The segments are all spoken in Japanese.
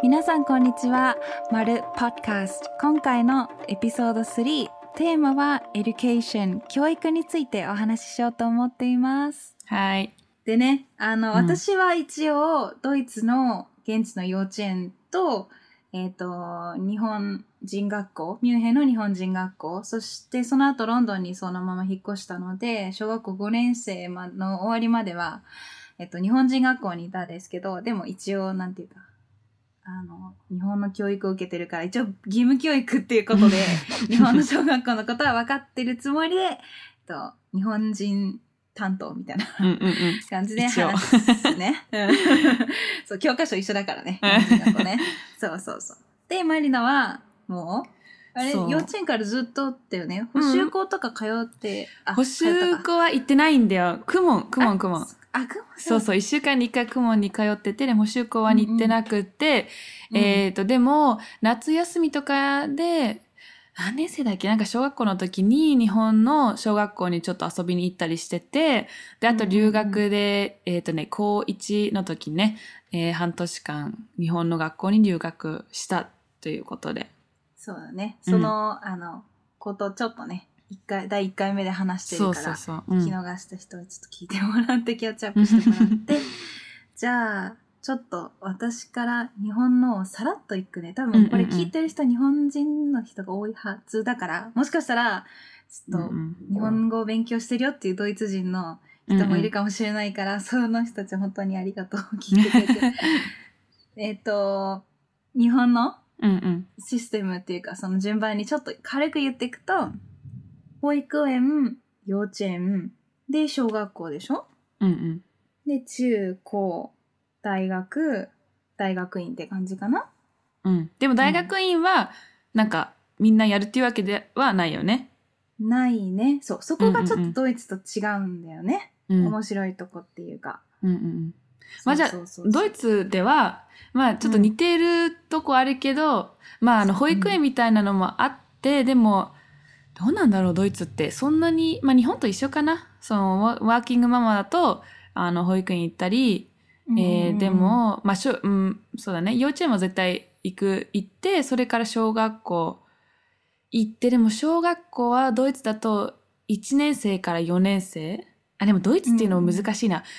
皆さんこんにちは。まるポッドキャスト。今回のエピソード3、テーマは Education、教育についてお話ししようと思っています。 はい。 でね、私は一応ドイツの現地の幼稚園と、日本人学校、ミュンヘンの日本人学校、そしてその後ロンドンにそのまま引っ越したので、小学校5年生の終わりまでは、日本人学校にいたんですけど、でも一応なんていうか、日本の教育を受けてるから、一応義務教育っていうことで、日本の小学校のことは分かってるつもりで、日本人担当みたいな感じで話すね。そう、教科書一緒だからね。日本人学校ね。そうそうそう。で、マリナは、もう、あれ、幼稚園からずっとだよね。補習校とか通って、 補習校は行ってないんだよ。クモン。そうそう、1週間に1回クモンに通ってて、でも補習校は行ってなくて、でも、夏休みとかで、何年生だっけ？なんか小学校の時に日本の小学校にちょっと遊びに行ったりしてて、で、あと留学で、高1の時ね、半年間日本の学校に留学したということで。 そうだね。その、ことちょっとね、第1回目で話してるから、聞き逃した人はちょっと聞いてもらって、キャッチアップしてもらって、じゃあ、ちょっと私から日本のをさらっといくね。多分これ聞いてる人、日本人の人が多いはずだから、もしかしたら、ちょっと日本語を勉強してるよっていうドイツ人の人もいるかもしれないから、その人たち本当にありがとう。聞いてくれて。日本のシステムっていうか、その順番にちょっと軽く言っていくと、保育園、幼稚園、で、小学校でしょ？で、中高、大学院って感じかな？ でも大学院は、なんか、みんなやるっていうわけではないよね。 ないね。そう。そこがちょっとドイツと違うんだよね。面白いとこっていうか。 まあじゃあ、ドイツでは、まあちょっと似てるとこあるけど、まあ保育園みたいなのもあって、でも、どうなんだろう、ドイツって。そんなに、まあ日本と一緒かな。その、ワーキングママだと、保育園行ったり、でも、まあそうだね。幼稚園も絶対行って、それから小学校行って、でも小学校はドイツだと1年生から4年生。でもドイツっていうのも難しいな。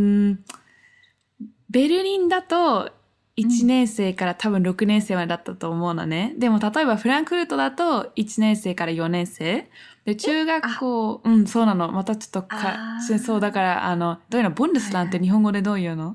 ベルリンだと1年生から多分6年生までだったと思うのね。でも例えばフランクフルトだと1年生から4年生。で、中学校、そうなの。またちょっとそうだから、どういうの？ボンデスランって日本語でどういうの？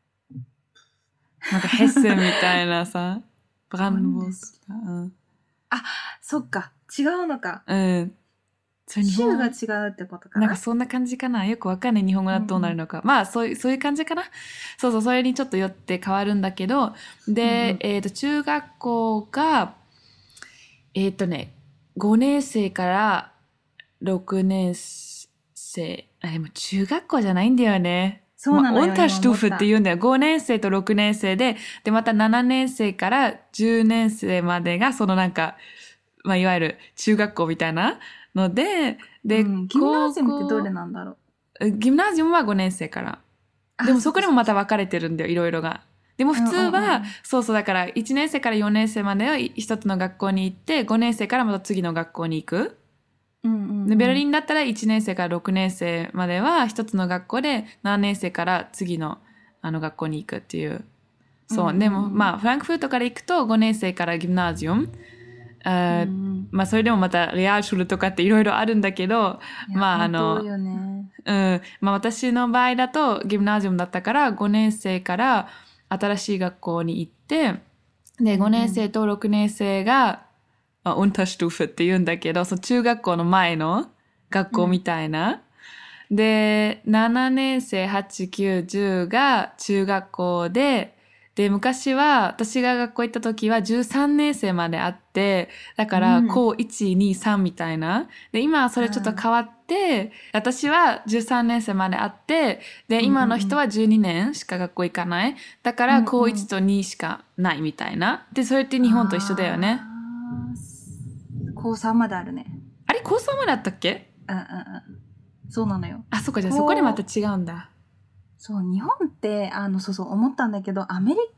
なんかヘッセンみたいなさ。ブランドボース。 そっか。違うのか。 州が違うってことかな。 なんかそんな感じかな。よくわかんない日本語だとどうなるのか。まあそういう感じかな。そう、それにちょっとよって変わるんだけど、で、中学校が、5年生から6年生。でも中学校じゃないんだよね。 そうなのよ。 オンターシュトゥーフって言うんだよ。5年生と6年生で、また7年生から10年生までが、そのなんか、まあいわゆる中学校みたいなので、 ギムナジウムってどれなんだろう？ギムナジウムは5年生から。でもそこでもまた分かれてるんだよ、いろいろが。でも普通は、そうだから1年生から4年生までは一つの学校に行って、5年生からまた次の学校に行く。でベルリンだったら1年生から6年生までは一つの学校で、7年生から次の学校に行くっていう。そう。でもまあフランクフルトから行くと5年生からギムナジウム。まあそれでもまたレアルシュルとかっていろいろあるんだけど、まあまあ私の場合だとギムナジウムだったから5年生から新しい学校に行って、で5年生と6年生がウンターシュトゥーフって言うんだけど、その中学校の前の学校みたいな。で、7年生、8、9、10が中学校で、昔は私が学校行った時は13年生まであって、だから高1、2、3みたいな。で、今はそれちょっと変わって、私は13年生まであって、で、今の人は12年しか学校行かない。だから高1と2しかないみたいな。で、それって日本と一緒だよね。 高3まであるね。 あれ高3まであったっけ？ そうなのよ。 そっか、じゃあそこでまた違うんだ。 そう、日本って、思ったんだけど、アメリカの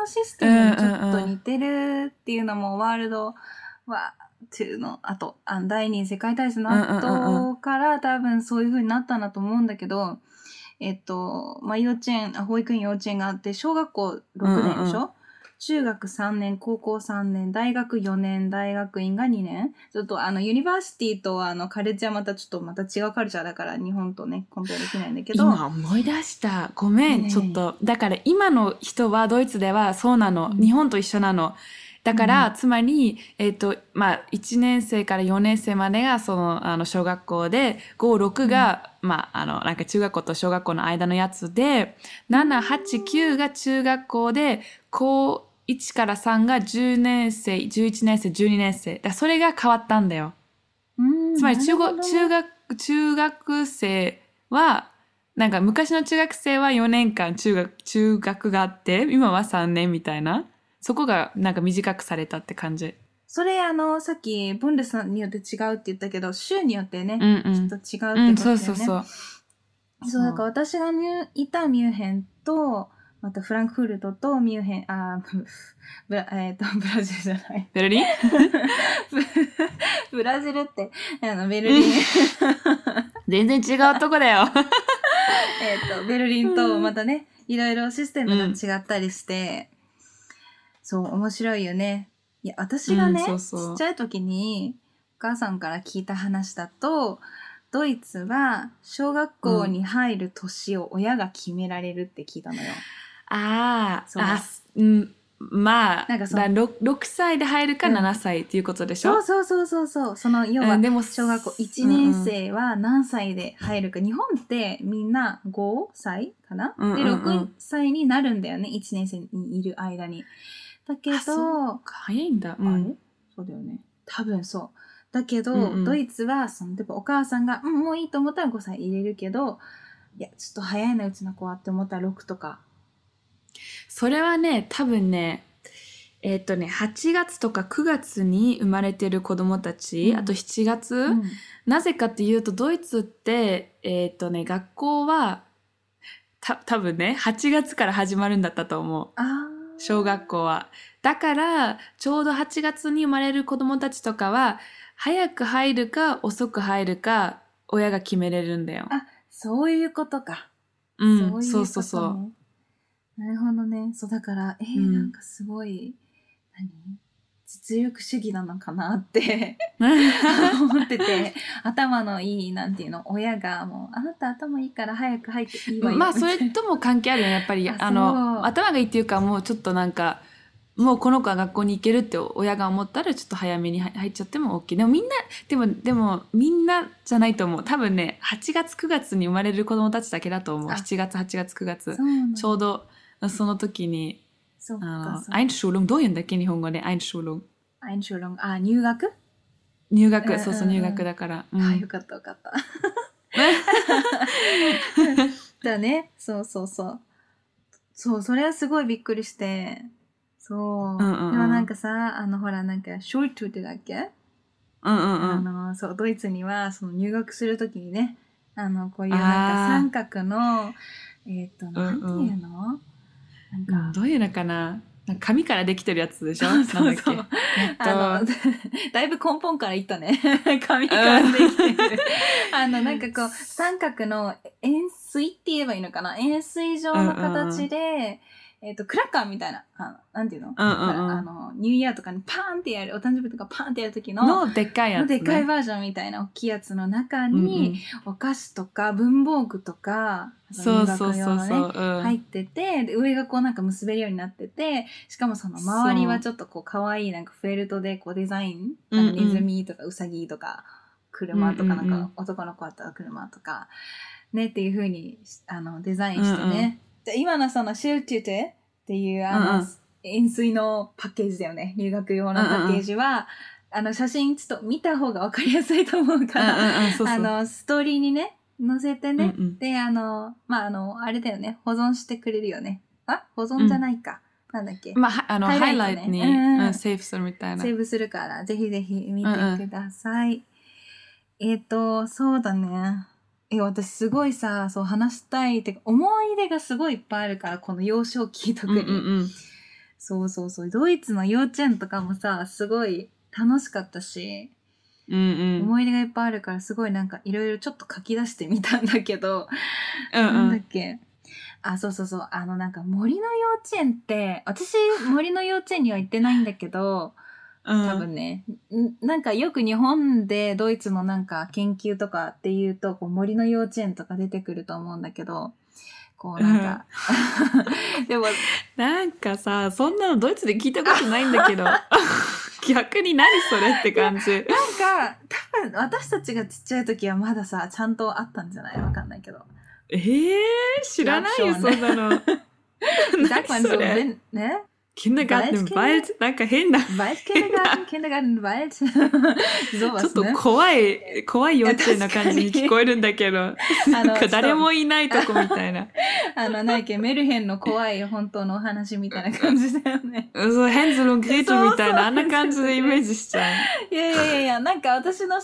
システムにちょっと似てるっていうのも、ワールドワー2の後、第二次世界大戦の後から多分そういう風になったんだと思うんだけど、まあ、保育園幼稚園があって、小学校6年でしょ、中学3年、高校3年、大学4年、大学院が2年。ちょっとユニバーシティとカレッジはまたちょっとまた違うカルチャーだから日本とね、コンペアできないんだけど。 今思い出した。ごめん、ちょっと。だから今の人はドイツではそうなの。日本と一緒なの。だから、つまり、まあ、1年生から4年生までが、小学校で、5、6が、まあ、なんか中学校と小学校の間のやつで、7、8、9が中学校で、高1から3が10年生、11年生、12年生。だそれが変わったんだよ。つまり中学生は、なんか昔の中学生は4年間中学があって、今は3年みたいな。そこがなんか短くされたって感じ。 それさっきブンデスによって違うって言ったけど、州によってね、ちょっと違うってことだよね。 そう。 そうだから私がいたミュンヘンと、またフランクフルトとミュンヘン、ブラジルじゃない。 ベルリンブラジルって、ベルリン。 全然違うとこだよ。 ベルリンとまたね、いろいろシステムが違ったりして、そう、面白いよね。いや、私がね、ちっちゃい時にお母さんから聞いた話だと、ドイツは小学校に入る年を親が決められるって聞いたのよ。まあ、 なんか6歳で入るか7歳っていうことでしょ、 そう。その、要は、小学校1年生は何歳で入るか。日本ってみんな5歳かな、で、6歳になるんだよね。1年生にいる間に。だけど、 早いんだ。 あれそうだよね。多分そう。だけど、ドイツは、例えばお母さんが、もういいと思ったら5歳入れるけど、いや、ちょっと早いな、うちの子はって思ったら6とか。 それはね、多分ね、8月とか9月に生まれてる子供たち、あと7月、なぜかっていうと、ドイツって、学校は、多分ね、8月から始まるんだったと思う。小学校は。だから、ちょうど8月に生まれる子供たちとかは、早く入るか遅く入るか、親が決めれるんだよ。 そういうことか。 そう。 なるほどね。そうだから、なんかすごい、実力主義なのかなって思ってて、頭のいい、なんていうの、親がもう、あなた頭いいから早く入っていいわよ。 まあ、それとも関係あるよね、やっぱり。頭がいいっていうか、もうちょっとなんか、もうこの子は学校に行けるって親が思ったらちょっと早めに入っちゃっても OK。でもみんなじゃないと思う。多分ね、8月9月に生まれる子供たちだけだと思う。7月、8月、9月。ちょうどその時に、Einschulung、どういうんだっけ日本語で Einschulung。 入学入学、そう、入学だから。 よかった。だね、そう。そう、それはすごいびっくりして、そう。でもなんかさ、ほら、なんか、ショルトゥってだっけそう、ドイツには、入学するときにね、こういうなんか三角の、なんていうのなんか、 どういうのかな紙からできてるやつでしょそうだいぶ根本からいったね。紙からできてる。なんかこう、三角の円錐って言えばいいのかな円錐状の形で、クラッカーみたいな、なんていうの、ニューイヤーとかにパーンってやる、お誕生日とかパーンってやる時のでっかいやつ、ね。 でっかいバージョンみたいな大きいやつの中に、お菓子とか文房具とか、 そう入ってて、で上がこうなんか結べるようになってて、しかもその周りはちょっとこう可愛いなんかフェルトでこうデザイン、なんかネズミとかウサギとか、車とかなんか男の子だったら車とか、ねっていう風にデザインしてね。今のそのシュルテュテっていう円錐のパッケージだよね。入学用のパッケージは、写真ちょっと見た方がわかりやすいと思うから、ストーリーにね、載せてね。で、あれだよね。保存してくれるよね。保存じゃないか。なんだっけ。 ハイライトに、セーブするみたいな。 セーブするから、ぜひぜひ見てください。そうだね。私すごいさ、そう話したいって思い出がすごいいっぱいあるから、この幼少期特に。 そうそうそう。ドイツの幼稚園とかもさ、すごい楽しかったし、 うんうん。 思い出がいっぱいあるから、すごいなんかいろいろちょっと書き出してみたんだけど、 うんなんだうん。 っけ。あ、そうそうそう。なんか森の幼稚園って、私、森の幼稚園には行ってないんだけど、多分ね、なんかよく日本でドイツのなんか研究とかっていうと、こう森の幼稚園とか出てくると思うんだけど、こうなんか、でも、 なんかさ、そんなのドイツで聞いたことないんだけど。逆に何それって感じ。 なんか、多分私たちがちっちゃい時はまださ、ちゃんとあったんじゃない？わかんないけど。 知らないよ、そんなの。 Sagt man so, ne? Kindergarten im Wald? なんか変な。 Kindergarten im Wald. ちょっと怖い幼稚園な感じに聞こえるんだけど。なんか誰もいないとこみたいな。 なんだっけ、メルヘンの怖い本当のお話みたいな感じだよね。 そう、ヘンゼルundグレーテルみたいな、あんな感じでイメージしちゃう。 いや、なんか私は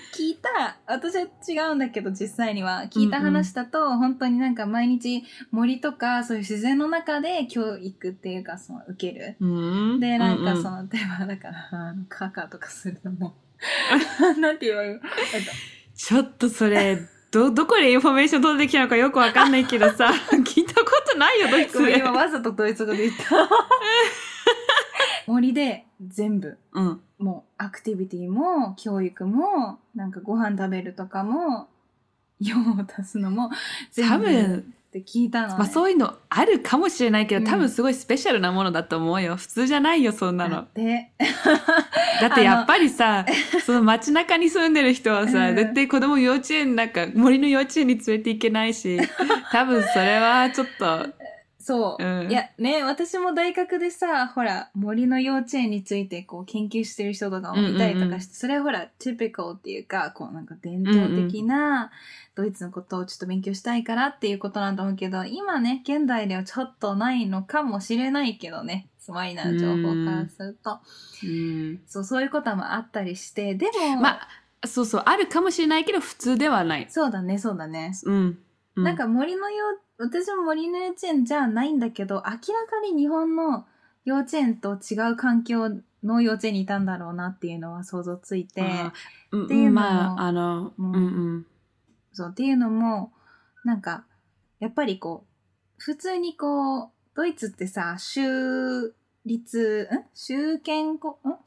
違うんだけど、実際には聞いた話だと、本当になんか毎日森とかそういう自然の中で教育っていうか、その受ける。で、なんかその、例えばだから、カカとかするのも、なんて言うの？ ちょっとそれ、どこでインフォメーション取ってきたのかよくわかんないけどさ、聞いたことないよ、ドイツで。 今わざとドイツ語で言った。森で全部、もうアクティビティも教育もなんかご飯食べるとかも用を足すのも全部って聞いたの、ね、 まあそういうのあるかもしれないけど、多分すごいスペシャルなものだと思うよ。普通じゃないよ、そんなの。だってやっぱりさ、その街中に住んでる人はさ、絶対子供幼稚園なんか森の幼稚園に連れて行けないし、多分それはちょっとそう、いやね、私も大学でさ、ほら森の幼稚園についてこう研究してる人とかもいたりとかして、それはほらtypicalっていうか、こうなんか伝統的なドイツのことをちょっと勉強したいからっていうことなんだと思うけど、今ね現代ではちょっとないのかもしれないけどね、スマイナー情報からすると、そういうこともあったりして、でもそうあるかもしれないけど普通ではない。 そうだね。なんか私も森の幼稚園じゃないんだけど、明らかに日本の幼稚園と違う環境の幼稚園にいたんだろうなっていうのは想像ついて、っていうのも、そうっていうのもなんかやっぱりこう普通にこうドイツってさ、州立国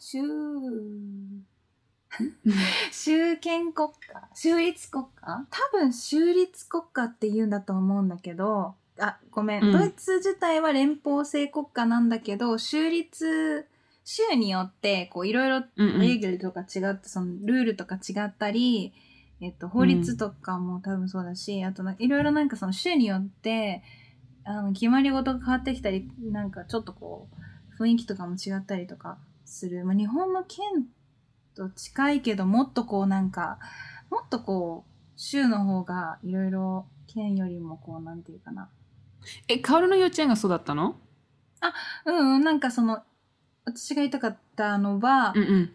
家、多分州立国家って言うんだと思うんだけど、ごめん、ドイツ自体は連邦制国家なんだけど、州によってこういろいろレーゲルとか違って、そのルールとか違ったり、法律とかも多分そうだし、あといろいろなんかその州によって決まり事が変わってきたり、なんかちょっとこう雰囲気とかも違ったりとかする。日本の県と近いけど、もっとこう州の方がいろいろ県よりもこうなんていうかな。 カオルの幼稚園がそうだったの？ なんかその私が言いたかったのは、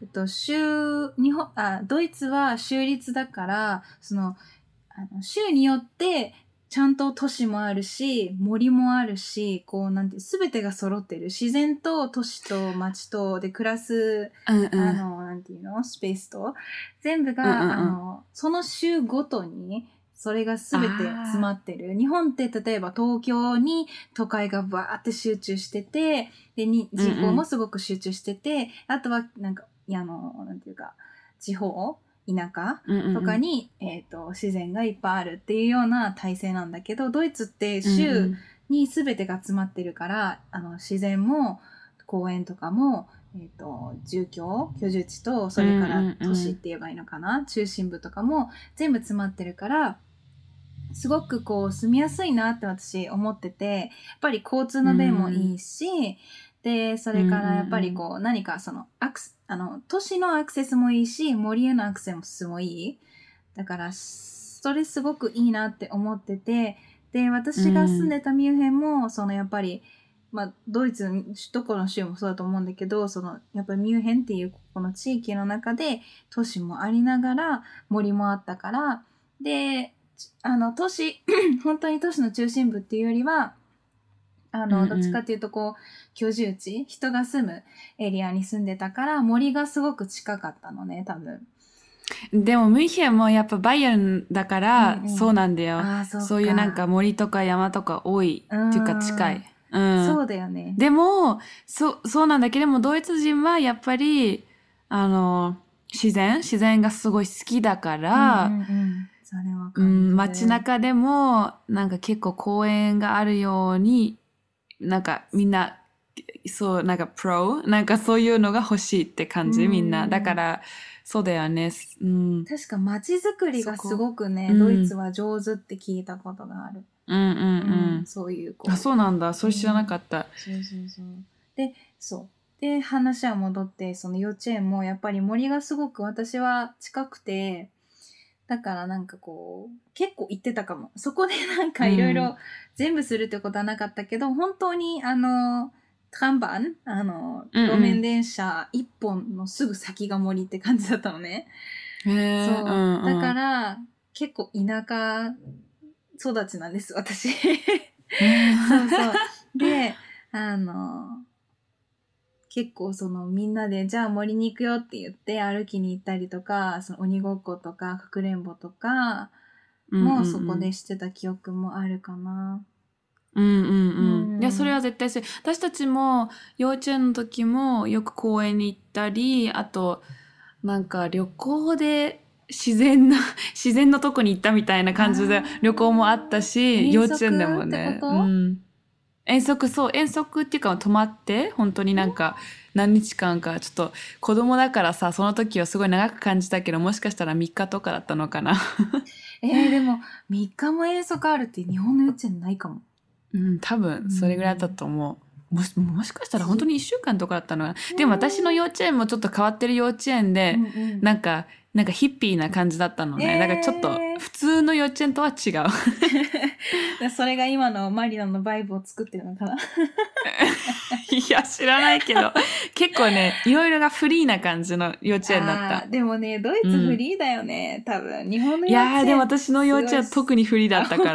ドイツは州立だから、その州によってちゃんと都市もあるし森もあるし、こうなんて全てが揃ってる、自然と都市と町とで暮らす、なんていうの、スペースと全部が、その州ごとにそれが全て詰まってる。日本って例えば東京に都会がバーって集中してて、で人口もすごく集中してて、あとはなんかなんていうか地方田舎とかに、自然がいっぱいあるっていうような体制なんだけど、ドイツって州に全てが詰まってるから、自然も公園とかも、居住地と、それから都市って言えばいいのかな、中心部とかも全部詰まってるから、すごくこう住みやすいなって私思ってて、やっぱり交通の便もいいし、でそれからやっぱりこう何かその都市のアクセスもいいし、森へのアクセスもいい。だからそれすごくいいなって思ってて、で私が住んでたミュンヘンもそのやっぱり、ドイツどこの州もそうだと思うんだけど、そのやっぱりミュンヘンっていうこの地域の中で都市もありながら森もあったから、で本当に都市の中心部っていうよりはどっちかっていうとこう、居住地、人が住むエリアに住んでたから、森がすごく近かったのね、多分。 でも、ミュンヘンもやっぱバイエルンだから、そうなんだよ。そういうなんか森とか山とか多いっていうか近い。 そうだよね。 でも、そうなんだけども、ドイツ人はやっぱり、自然がすごい好きだから、 それは感じる。 街中でも、なんか結構公園があるように、なんかみんな、そう、なんかなんかそういうのが欲しいって感じ、みんな。だから、そうだよね。 確か街づくりがすごくね、ドイツは上手って聞いたことがある。そういうこう。 あ、そうなんだ。それ知らなかった。 で、話は戻って、その幼稚園もやっぱり森がすごく私は近くて、だからなんかこう、結構行ってたかも。そこでなんかいろいろ全部するってことはなかったけど、本当にトランバン路面電車一本のすぐ先が森って感じだったのね。そう。だから、結構田舎育ちなんです、私。そうそう。で、結構そのみんなでじゃあ森に行くよって言って歩きに行ったりとか、その鬼ごっことかかくれんぼとかもそこでしてた記憶もあるかな。 いや、それは絶対そう。私たちも幼稚園の時もよく公園に行ったり、あとなんか旅行で自然のとこに行ったみたいな感じで旅行もあったし、幼稚園でもね。遠足っていうか泊まって本当になんか何日間か、ちょっと子供だからさ、その時はすごい長く感じたけど、もしかしたら3日とかだったのかな。 でも3日も遠足あるって日本の幼稚園ないかも。 多分それぐらいだったと思う。もしかしたら本当に1週間とかだったのかな。でも私の幼稚園もちょっと変わってる幼稚園で、なんかヒッピーな感じだったのね。だからちょっと普通の幼稚園とは違う。 それが今のマリナのバイブを作ってるのかな。 いや、知らないけど、結構ね、いろいろがフリーな感じの幼稚園だった。 でもね、ドイツフリーだよね、多分。日本の幼稚園。いやでも私の幼稚園は特にフリーだったから。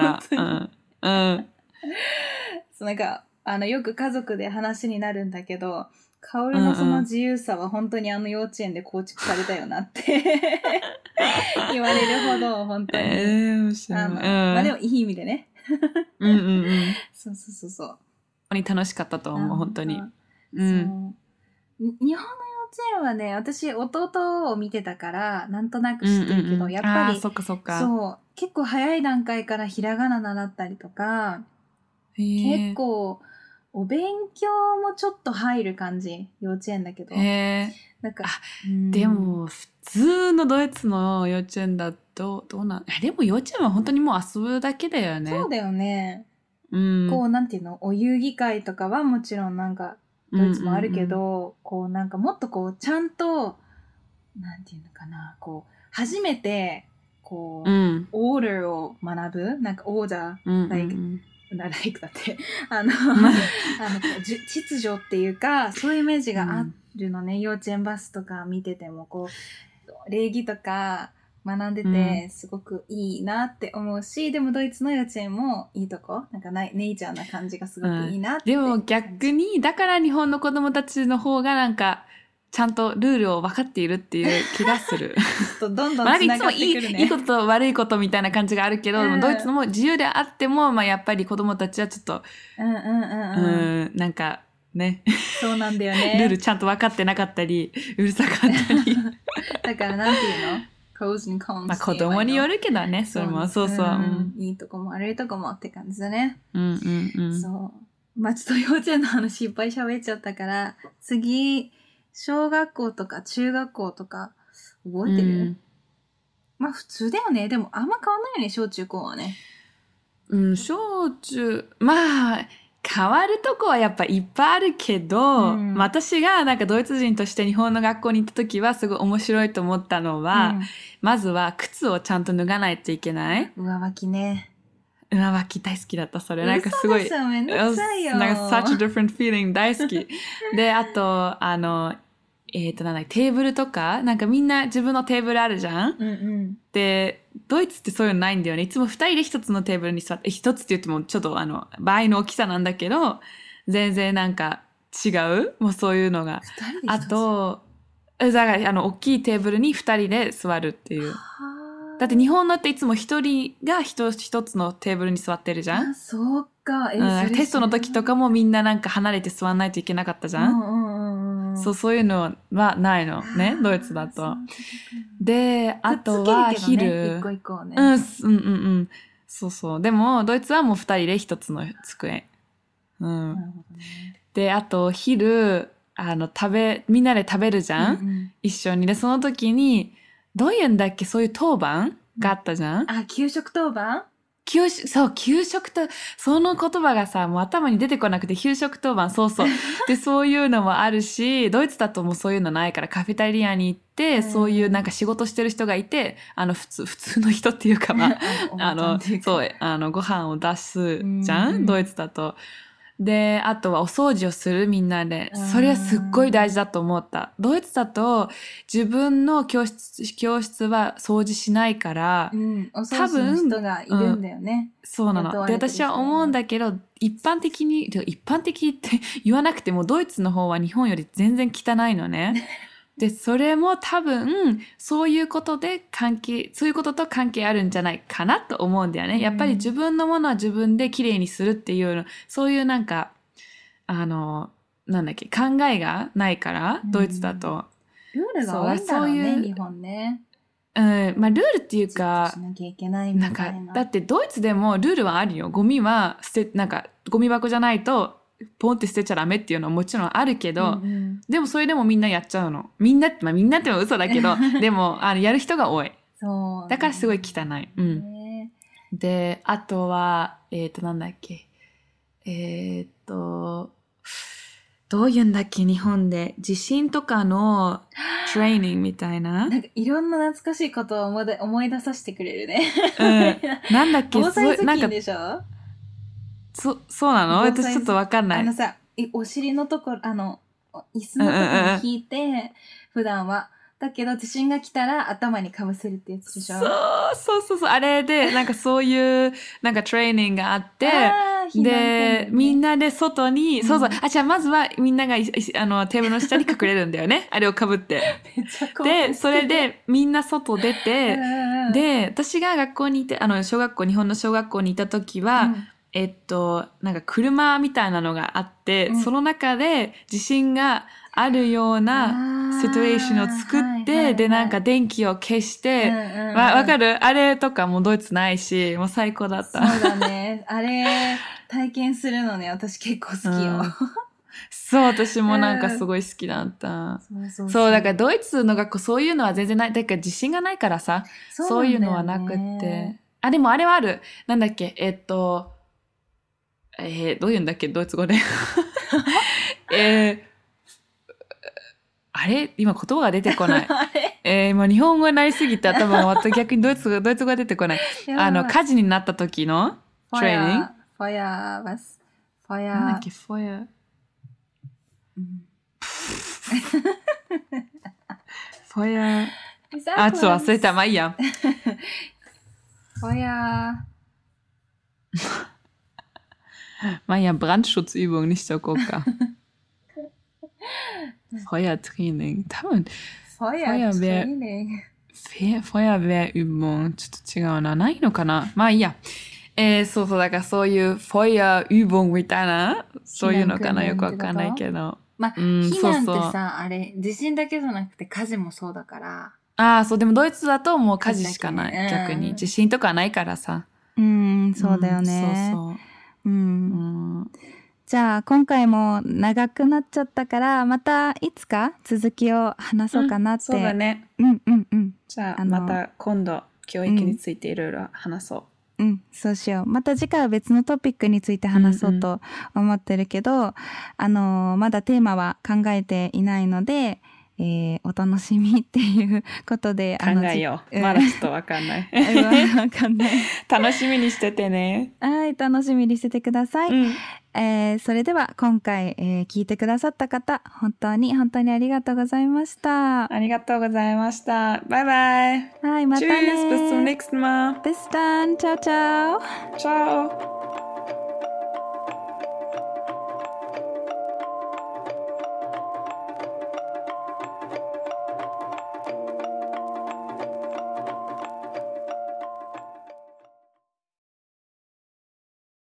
そうなんか、よく家族で話になるんだけど、カオルのその自由さは本当に幼稚園で構築されたよなって言われるほど、本当に。まあでもいい意味でね。そう。本当に楽しかったと思う、本当に。 日本の幼稚園はね、私弟を見てたからなんとなく知ってるけど、やっぱりそう結構早い段階からひらがな習ったりとか、結構お勉強もちょっと入る感じ、幼稚園だけど。なんかでも普通のドイツの幼稚園だとどうなん？でも幼稚園は本当にもう遊ぶだけだよね。 そうだよね。こうなんていうの、お遊戯会とかはもちろんなんかドイツもあるけど、こうなんかもっとこうちゃんとなんていうのかな、こう初めてこう、オーダーを学ぶ、なんかオーダー、like だって秩序っていうかそういうイメージがあるのね、幼稚園バスとか見ててもこう礼儀とか学んでてすごくいいなって思うし、でもドイツの幼稚園もいいとこ、なんかネイチャーな感じがすごくいいなって、 でも逆にだから日本の子供たちの方がなんかちゃんとルールを分かっているっていう気がする。 どんどんつながってくるね。 いつもいいことと悪いことみたいな感じがあるけど、ドイツのも自由であっても、まあ、やっぱり子供たちはちょっと、なんかね。 そうなんだよね。 ルールちゃんと分かってなかったり、うるさかったり。 だからなんていうの？Pros and cons。 まあ子供によるけどね、それも。そう。 いいとこも悪いとこもって感じだね。 そう。 まあちょっと幼稚園の話いっぱい喋っちゃったから、次、小学校とか中学校とか覚えてる？まあ普通だよね。でもあんま変わんないよね、小中高はね。 小中、まあ変わるとこはやっぱいっぱいあるけど、私がなんかドイツ人として日本の学校に行った時はすごい面白いと思ったのは、まずは靴をちゃんと脱がないといけない。 上履きね。 上履き大好きだった、それ。なんかすごい。 めんどくさいよ。 なんか such a different feeling 大好き。で、あと、 なんだテーブルとか、なんかみんな自分のテーブルあるじゃん、 うんうん、 で、ドイツってそういうのないんだよね。いつも二人で一つのテーブルに座って、一つって言ってもちょっと倍の大きさなんだけど、全然なんか違うもうそういうのが。あと、だから大きいテーブルに二人で座るっていう。だって日本のっていつも一人が一つのテーブルに座ってるじゃん。 あ、そうか。 テストの時とかもみんななんか離れて座んないといけなかったじゃん。そういうのはないのね、ドイツだと。で、あとは昼。 一個一個ね。 そう。でも、ドイツはもう二人で一つの机。 なるほどね。 で、あと昼、みんなで食べるじゃん、一緒に。で、その時に、どういうんだっけ、そういう当番があったじゃん、 あ、給食当番？ 給食と、その言葉がさ、もう頭に出てこなくて、給食当番、そう。で、そういうのもあるし、ドイツだともうそういうのないから、カフェテリアに行って、そういうなんか仕事してる人がいて、普通の人っていうか、まあ、そう、ご飯を出すじゃん、ドイツだと。で、あとはお掃除をするみんなで。それはすっごい大事だと思った。ドイツだと自分の教室は掃除しないから、 お掃除の人がいるんだよね。 そうなの。で、私は思うんだけど、一般的って言わなくても、ドイツの方は日本より全然汚いのね。で、それも多分、そういうことと関係あるんじゃないかなと思うんだよね。やっぱり自分のものは自分できれいにするっていうの、そういうなんか、なんだっけ、考えがないから、ドイツだと。 ルールが多いんだろうね、日本ね。 まあルールっていうか、 しなきゃいけないみたいな。 だってドイツでもルールはあるよ。ゴミはなんかゴミ箱じゃないとポンって捨てちゃダメっていうのはもちろんあるけど、でもそれでもみんなやっちゃうの。みんなっても嘘だけど、でもやる人が多い。 そう、 だからすごい汚い。で、あとはなんだっけ、どういうんだっけ、日本で地震とかのトレーニングみたいな。 なんかいろんな懐かしいことを思い出させてくれるね。 なんだっけ、 防災頭巾でしょ？ そうなの？私ちょっとわかんない。 さ、お尻のところ、椅子のところに引いて、普段は。だけど地震が来たら頭にかぶせるってやつでしょ？ そう。あれで、なんかそういう、なんかトレーニングがあって、で、みんなで外に、じゃあまずはみんながテーブルの下に隠れるんだよね。あれをかぶって。で、それでみんな外出て、で、私が学校にいて、日本の小学校にいた時は、なんか車みたいなのがあって、その中で地震があるようなシチュエーションを作って、で、なんか電気を消して、わかる？あれとかもドイツないし、もう最高だった。 そうだね。あれ、体験するのね、私結構好きよ。 そう、私もなんかすごい好きだった。そう、だからドイツの学校そういうのは全然ない。だから自信がないからさ、そういうのはなくって。でもあれはある。なんだっけ、どういうんだっけ、ドイツ語で。あれ今言葉が出てこない。今日本語になりすぎて頭が逆にドイツ語が出てこない。火事になった時のトレーニング。 ファヤー。 なんだっけ、ファヤー。ファヤー。ちょっと忘れた。まあいいや。 ファヤー。まあいいや、Brandschutzübungにしとこうか。Feuertraining. 多分、Feuerwehrübung。ちょっと違うな。ないのかな？まあいいや。そう、だからそういう Feuerübung みたいな、そういうのかな？よくわかんないけど。 まあ、避難ってさ、あれ、地震だけじゃなくて火事もそうだから。 そう、でもドイツだともう火事しかない。逆に。地震とかないからさ。 そうだよね。じゃあ今回も長くなっちゃったからまたいつか続きを話そうかなって、 そうだね。じゃあまた今度教育についていろいろ話そう。 そうしよう。また次回は別のトピックについて話そうと思ってるけど、まだテーマは考えていないので、お楽しみっていうことで考えよう。まだちょっとわかんない。 わかんない。 楽しみにしててね。 はい、楽しみにしててください。 それでは今回、聞いてくださった方、本当に本当にありがとうございました。 ありがとうございました。バイバイ。 はい、またね。 Tschüss, bis zum nächsten Mal. Bis dann. Ciao, ciao. Ciao.